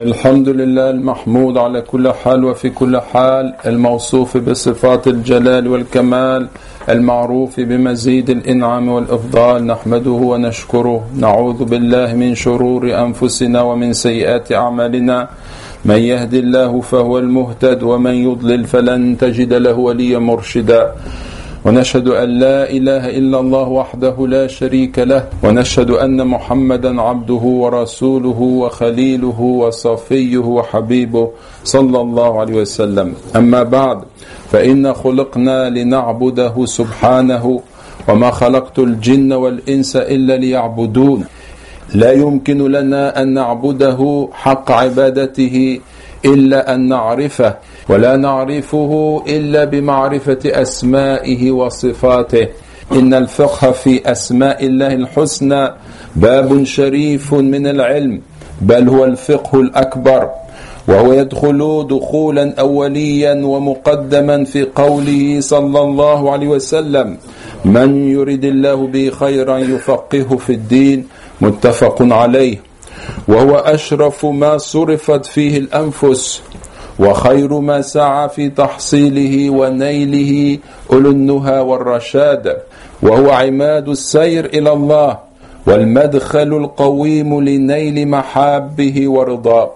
الحمد لله المحمود على كل حال وفي كل حال، الموصوف بصفات الجلال والكمال، المعروف بمزيد الإنعام والإفضال، نحمده ونشكره. نعوذ بالله من شرور أنفسنا ومن سيئات أعمالنا، من يهد الله فهو المهتد ومن يضلل فلن تجد له وليا مرشدا. ونشهد أن لا إله إلا الله وحده لا شريك له، ونشهد أن محمدا عبده ورسوله وخليله وصفيه وحبيبه صلى الله عليه وسلم. أما بعد، فإن خلقنا لنعبده سبحانه، وما خلقت الجن والإنس إلا ليعبدون. لا يمكن لنا أن نعبده حق عبادته إلا أن نعرفه، ولا نعرفه إلا بمعرفة أسمائه وصفاته. إن الفقه في أسماء الله الحسنى باب شريف من العلم، بل هو الفقه الأكبر، وهو يدخل دخولا أوليا ومقدما في قوله صلى الله عليه وسلم: من يرد الله به خيرا يفقهه في الدين، متفق عليه. وهو أشرف ما صرفت فيه الأنفس، وخير ما سعى في تحصيله ونيله أولو النهى والرشاد، وهو عماد السير إلى الله، والمدخل القويم لنيل محابه ورضاه.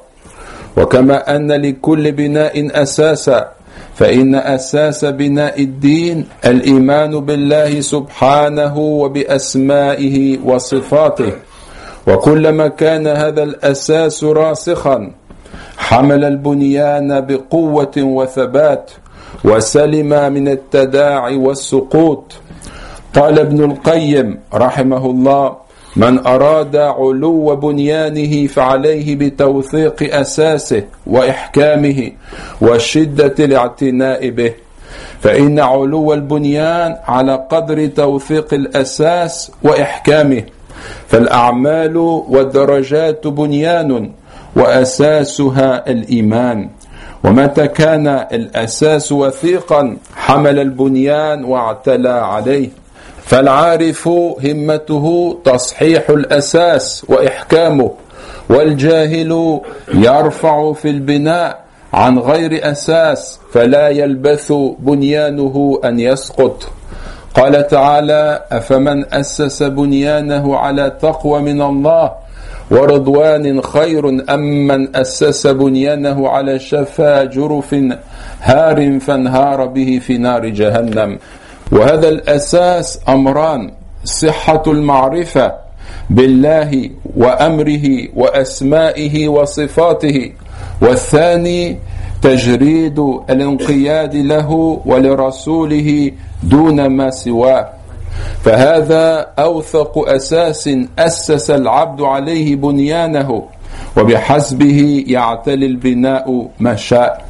وكما أن لكل بناء أساسا، فإن أساس بناء الدين الإيمان بالله سبحانه وبأسمائه وصفاته. وكلما كان هذا الأساس راسخا حمل البنيان بقوة وثبات، وسلم من التداعي والسقوط. قال ابن القيم رحمه الله: من أراد علو بنيانه فعليه بتوثيق أساسه وإحكامه وشدة الاعتناء به، فإن علو البنيان على قدر توثيق الأساس وإحكامه. فالأعمال والدرجات بنيان، وأساسها الإيمان. ومتى كان الأساس وثيقا حمل البنيان واعتلى عليه. فالعارف همته تصحيح الأساس وإحكامه، والجاهل يرفع في البناء عن غير أساس، فلا يلبث بنيانه أن يسقط. قال تعالى: أفمن أسس بنيانه على تقوى من الله ورضوان خير أم من أسس بنيانه على شفا جرف هار فانهار به في نار جهنم. وهذا الأساس أمران: صحة المعرفة بالله وأمره وأسمائه وصفاته، والثاني تجريد الانقياد له ولرسوله دون ما سواه. فهذا أوثق أساس أسس العبد عليه بنيانه، وبحسبه يعتلي البناء ما شاء.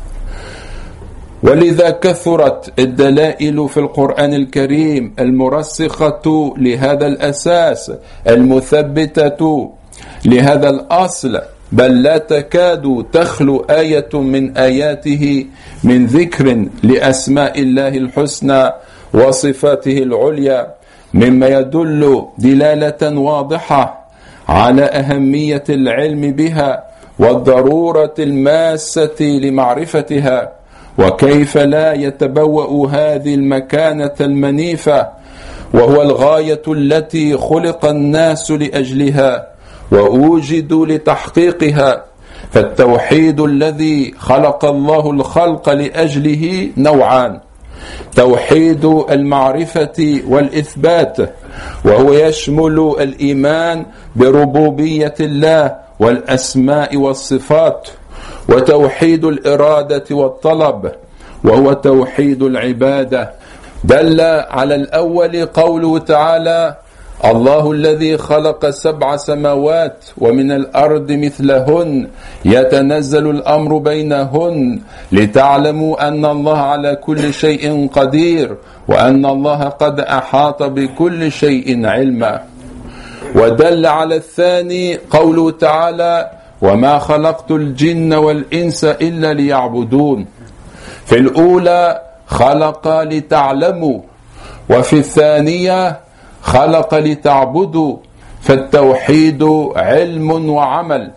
ولذا كثرت الدلائل في القرآن الكريم المرسخة لهذا الأساس، المثبتة لهذا الأصل، بل لا تكاد تخلو آية من آياته من ذكر لأسماء الله الحسنى وصفاته العليا، مما يدل دلالة واضحة على أهمية العلم بها والضرورة الماسة لمعرفتها. وكيف لا يتبوأ هذه المكانة المنيفة، وهو الغاية التي خلق الناس لأجلها وأوجدوا لتحقيقها. فالتوحيد الذي خلق الله الخلق لأجله نوعان: توحيد المعرفة والإثبات، وهو يشمل الإيمان بربوبية الله والأسماء والصفات، وتوحيد الإرادة والطلب، وهو توحيد العبادة. دل على الأول قوله تعالى: الله الذي خلق 7 سماوات ومن الأرض مثلهن يتنزل الأمر بينهن لتعلموا أن الله على كل شيء قدير وأن الله قد أحاط بكل شيء علما. ودل على الثاني قوله تعالى: وما خلقت الجن والإنس إلا ليعبدون. في الأولى خلق لتعلموا، وفي الثانية خلق لتعبدوا. فالتوحيد علم وعمل،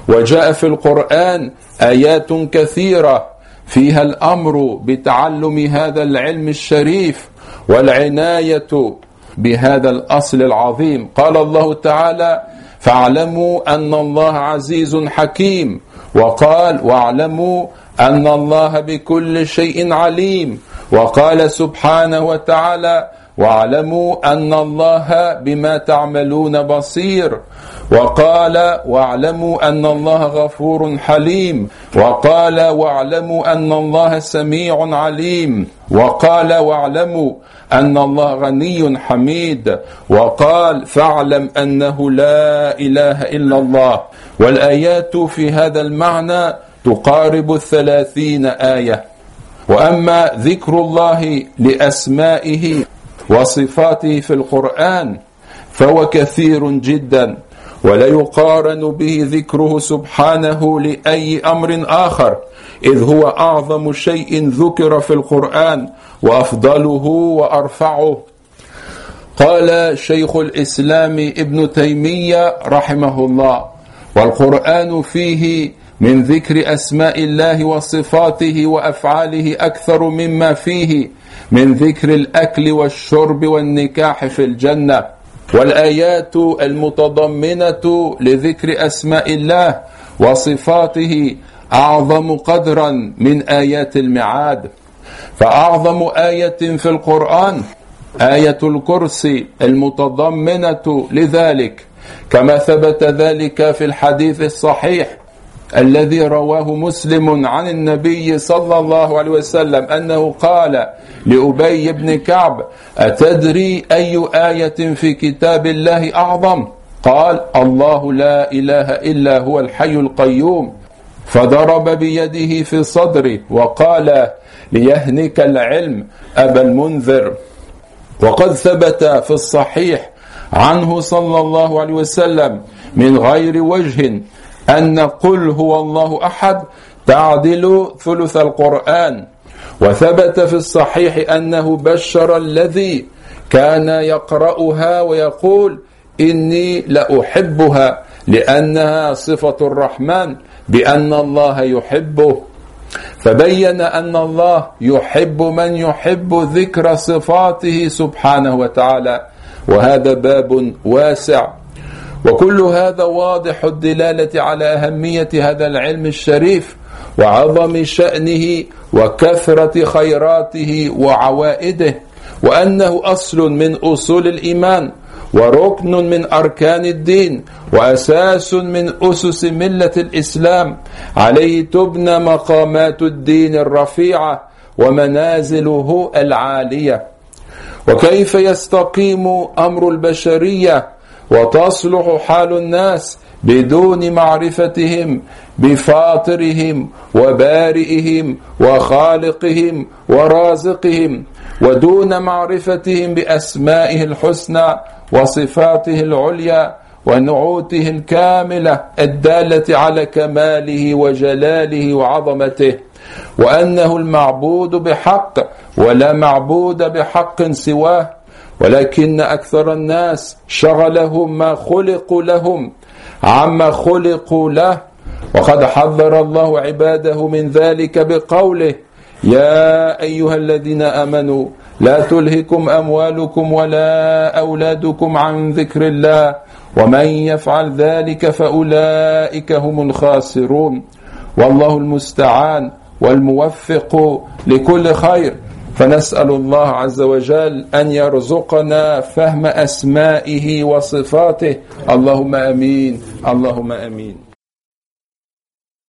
وجاء في القرآن آيات كثيرة فيها الأمر بتعلم هذا العلم الشريف والعناية بهذا الأصل العظيم. قال الله تعالى: فاعلموا أن الله عزيز حكيم، وقال: واعلموا أن الله بكل شيء عليم، وقال سبحانه وتعالى: واعلموا أن الله بما تعملون بصير، وقال: واعلموا أن الله غفور حليم، وقال: واعلموا أن الله سميع عليم، وقال: واعلموا أن الله غني حميد، وقال: فاعلم أنه لا إله إلا الله. والآيات في هذا المعنى تقارب 30 آية. وأما ذكر الله لأسمائه وصفاته في القرآن فهو كثير جدا، ولا يقارن به ذكره سبحانه لأي أمر آخر، إذ هو أعظم شيء ذكر في القرآن وأفضله وأرفعه. قال شيخ الإسلام ابن تيمية رحمه الله: والقرآن فيه من ذكر أسماء الله وصفاته وأفعاله أكثر مما فيه من ذكر الأكل والشرب والنكاح في الجنة. والآيات المتضمنة لذكر أسماء الله وصفاته أعظم قدرا من آيات الميعاد. فأعظم آية في القرآن آية الكرسي المتضمنة لذلك، كما ثبت ذلك في الحديث الصحيح الذي رواه مسلم عن النبي صلى الله عليه وسلم أنه قال لأبي بن كعب: أتدري أي آية في كتاب الله أعظم؟ قال: الله لا إله إلا هو الحي القيوم. فضرب بيده في صدره وقال: ليهنك العلم أبا المنذر. وقد ثبت في الصحيح عنه صلى الله عليه وسلم من غير وجه أن قل هو الله أحد تعدل ثلث القرآن. وثبت في الصحيح أنه بشر الذي كان يقرأها ويقول: إني لأحبها لأنها صفة الرحمن بأن الله يحبه. فبين أن الله يحب من يحب ذكر صفاته سبحانه وتعالى، وهذا باب واسع. وكل هذا واضح الدلالة على أهمية هذا العلم الشريف وعظم شأنه وكثرة خيراته وعوائده، وأنه أصل من أصول الإيمان وركن من أركان الدين وأساس من أسس ملة الإسلام، عليه تبنى مقامات الدين الرفيعة ومنازله العالية. وكيف يستقيم أمر البشرية وتصلح حال الناس بدون معرفتهم بفاطرهم وبارئهم وخالقهم ورازقهم، ودون معرفتهم بأسمائه الحسنى وصفاته العليا ونعوته الكاملة الدالة على كماله وجلاله وعظمته، وأنه المعبود بحق ولا معبود بحق سواه، ولكن أكثر الناس شغلهم ما خلقوا لهم عما خلقوا له. وقد حذر الله عباده من ذلك بقوله: يا أيها الذين آمنوا لا تلهكم أموالكم ولا أولادكم عن ذكر الله ومن يفعل ذلك فأولئك هم الخاسرون. والله المستعان والموفق لكل خير. فنسأل الله عز وجل أن يرزقنا فهم أسمائه وصفاته. اللهم أمين، اللهم أمين.